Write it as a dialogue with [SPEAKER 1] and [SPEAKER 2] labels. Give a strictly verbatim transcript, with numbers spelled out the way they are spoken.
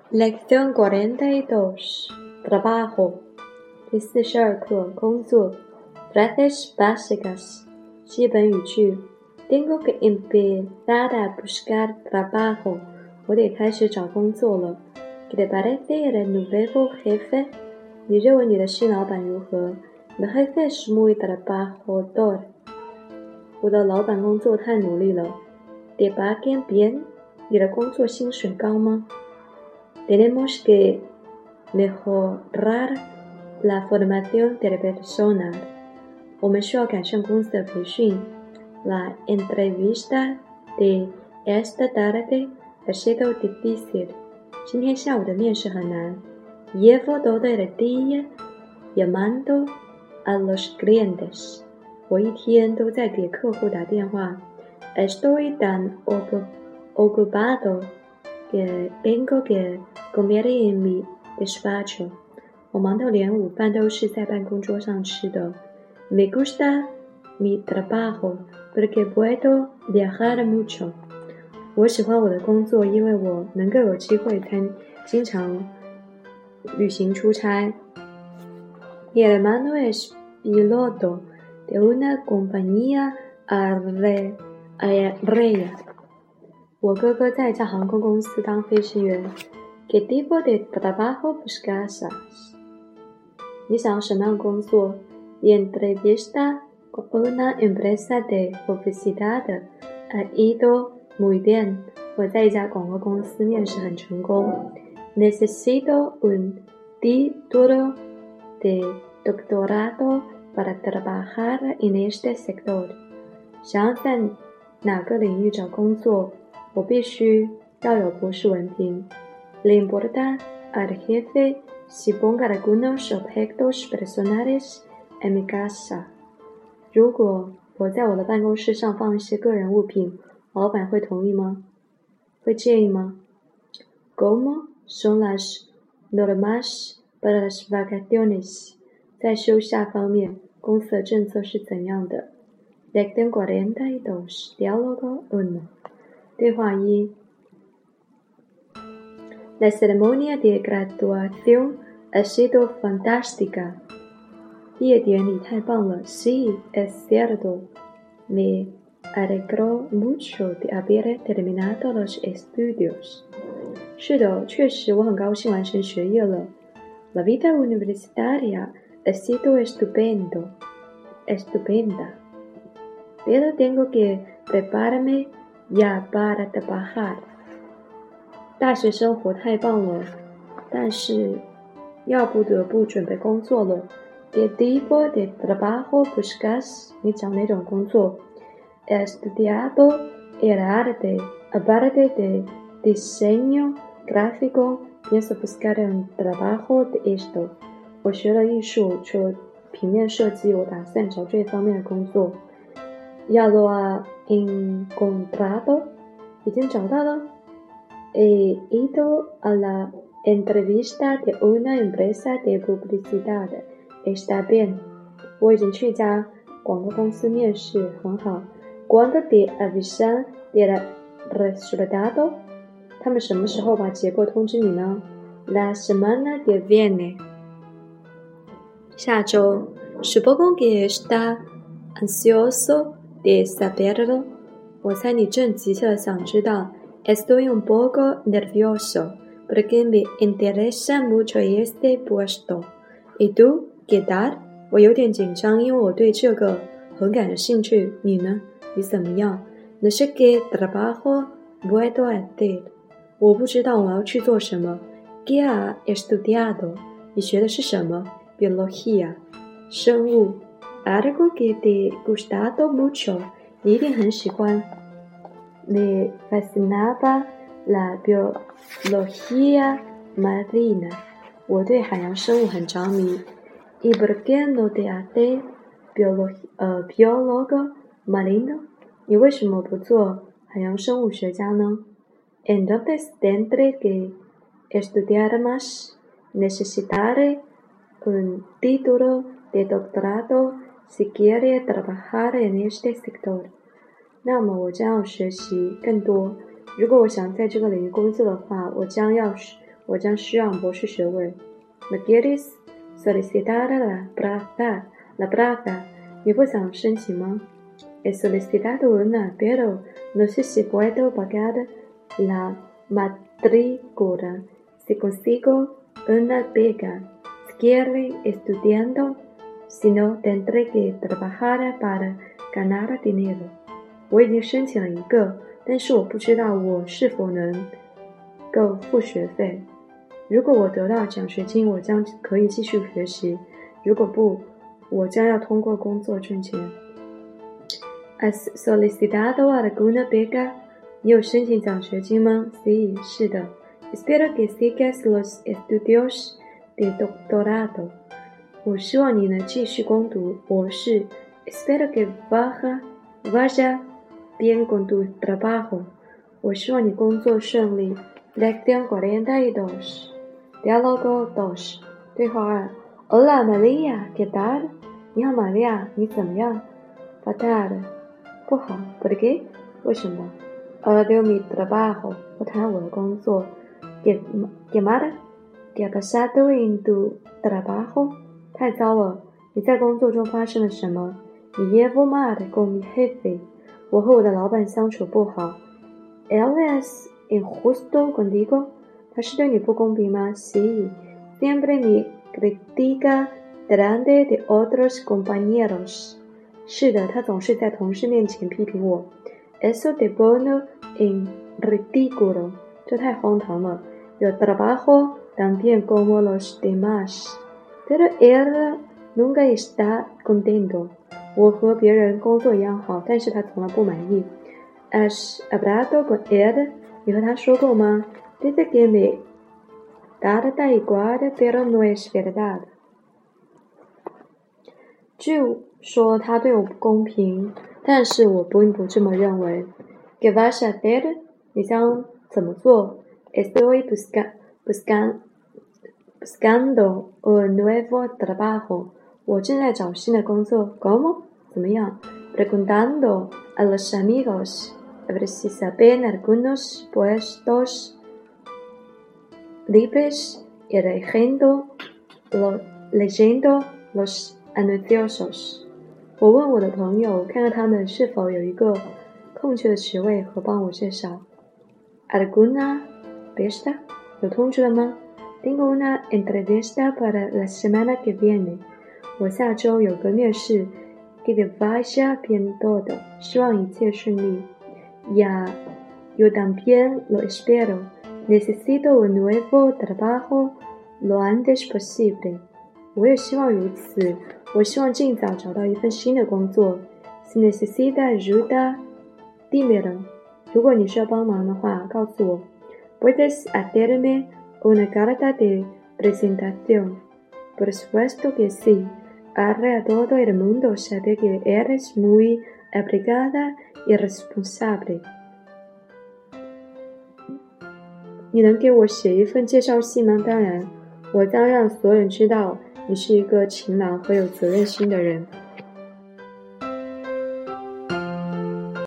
[SPEAKER 1] Lección cuarenta y dos. Trabajo. 第四十二课，工作。Frases básicas. 基本语句。Tengo que empezar a buscar trabajo. 我得开始找工作了。¿Qué te parece el nuevo jefe? 你认为你的新老板如何？ Mi jefe es muy trabajador. 我的老板工作太努力了。¿Te pagan bien? 你的工作薪水高吗？Tenemos que mejorar la formación del personal. 我们需要改善公司的培训。La entrevista de esta tarde ha sido difícil. 今天下午的面试很难。Llevo todo el día llamando a los clientes. 我一天都在给客户打电话。Estoy tan ocupado que tengo que comer en mi despacho. 我忙到连午饭都是在办公桌上吃的。Me gusta mi trabajo porque puedo viajar mucho. 我喜欢我的工作，因为我能够有机会参经常旅行出差。Mi hermano es piloto de una compañía aérea.我哥哥在一家航空公司当飞行员。¿Qué tipo de trabajo buscas? 你想要什么样的工作？ La entrevista con una empresa de publicidad ha ido muy bien. 我在一家广告公司面试很成功。Necesito un título de doctorado para trabajar en este sector. 想要在哪个领域找工作？我必须要有博士文凭。Le importa al jefe si pongo algunos objetos personales en mi casa. 如果我在我的办公室上放一些个人物品，老板会同意吗？会介意吗？ ¿Cómo son las normas para las vacaciones? 在休假方面，公司的政策是怎样的？ Lección cuarenta y dos. Diálogo uno. 对话一。La ceremonia de graduación ha sido fantástica. 毕业典礼太棒了。Sí, es cierto. Me alegro mucho de haber terminado los estudios. 是的，确实，我很高兴完成学业了。La vida universitaria ha sido estupendo, estupenda. Pero tengo que prepararme ya para trabajar. 大学生活太棒了，但是要不得不准备工作了。¿Qué tipo de trabajo buscas? 你找哪种工作？ He estudiado el arte, aparte de diseño gráfico, pienso buscar un trabajo de esto. 我学了艺术，除了平面设计，我打算找这方面的工作。Ya lo ha encontrado? 已经找到了。He ido a la entrevista de una empresa de publicidad. Está bien. 我已经去一家广告公司面试，很好。¿Cuándo te avisan del resultado? 他们什么时候把结果通知你呢？ La semana que viene. 下周。Supongo que está ansioso de saberlo. 我猜你正急切地想知道。Estoy un poco nervioso porque me interesa mucho este puesto. ¿Y tú, qué tal? 我有点紧张，因为我对这个很感兴趣。你呢？你怎么样？ No sé qué trabajo puedo hacer. 我不知道我要去做什么。¿Qué has estudiado? 你学的是什么？ Biología. 生物。Algo que te gustado mucho. 你一定很喜欢。Me fascinaba la biología marina. 我对海洋生物很着迷。¿Y por qué no te haces biólogo, uh, biólogo marino? 你为什么不做海洋生物学家呢？ Entonces tendré que estudiar más. Necesitaré un título de doctorado si quiere trabajar en este sector. 那么我将要学习更多。如果我想在这个领域工作的话，我将要我将需要博士学位。¿Me quieres solicitar la plaza? La plaza? 你不想申请吗？ He solicitado una, pero no sé si puedo pagar la matrícula. Si consigo una beca, seguiré estudiando. Si no, tendré que trabajar para ganar dinero. 我已经申请了一个，但是我不知道我是否能够付学费。如果我得到奖学金，我将可以继续学习；如果不，我将要通过工作挣钱。¿Has solicitado alguna beca? 你有申请奖学金吗？ Sí, 是的。Espero que sigas los estudios de doctorado. 我希望你能继续攻读博士。Espero que vaya, vaya bien con tu trabajo. 我希望你工作顺利。Lección cuarenta y dos. Diálogo dos. 对话二。Hola María, ¿qué tal? 你好，玛利亚，你怎么样？ Fatal. 不好。¿Por qué? 为什么？ Odio mi trabajo. 我讨厌我的工作。¿Qué, qué mal? ¿Qué ha pasado en tu trabajo? 太糟了！你在工作中发生了什么？ Me llevo mal con mi jefe. 我和我的老板相处不好。Él es injusto contigo. 他是对你不公平吗？ Sí. Siempre me critica delante de otros compañeros. 是的，他总是在同事面前批评我。Eso te pone en ridículo. 这太荒唐了。Yo trabajo también como los demás.Pero él nunca está contento. 我和别人工作一样好，但是他从来不满意。¿Has hablado con él? 你和他说过吗？ Dice que me da igual, pero no es verdad. 据说他对我不公平，但是我并不这么认为。¿Qué vas a hacer? 你将怎么做？ Estoy busca, buscando un nuevo trabajo. 我正在找新的工作。¿Cómo? 怎么样？ Preguntando a los amigos a ver si saben algunos puestos libres y leyendo, lo, leyendo los anuncios. 我问我的朋友，看看他们是否有一个空缺的职位和帮我介绍。¿Alguna fiesta? 有通知了吗？ Tengo una entrevista para la semana que viene. 我下周有个面试。Que te vaya bien todo. 希望一切顺利。Ya, yo también lo espero. Necesito un nuevo trabajo lo antes posible. 我也希望如此。我希望尽早找到一份新的工作。Si necesita ayuda, dímelo. 如果你需要帮忙的话，告诉我。Puedes hacerme una carta de presentación. Por supuesto que sí.Ahora todo el mundo sabe que eres muy aplicada y responsable. 你能给我写一份介绍信吗？当然，我将让所有人知道你是一个勤劳和有责任心的人。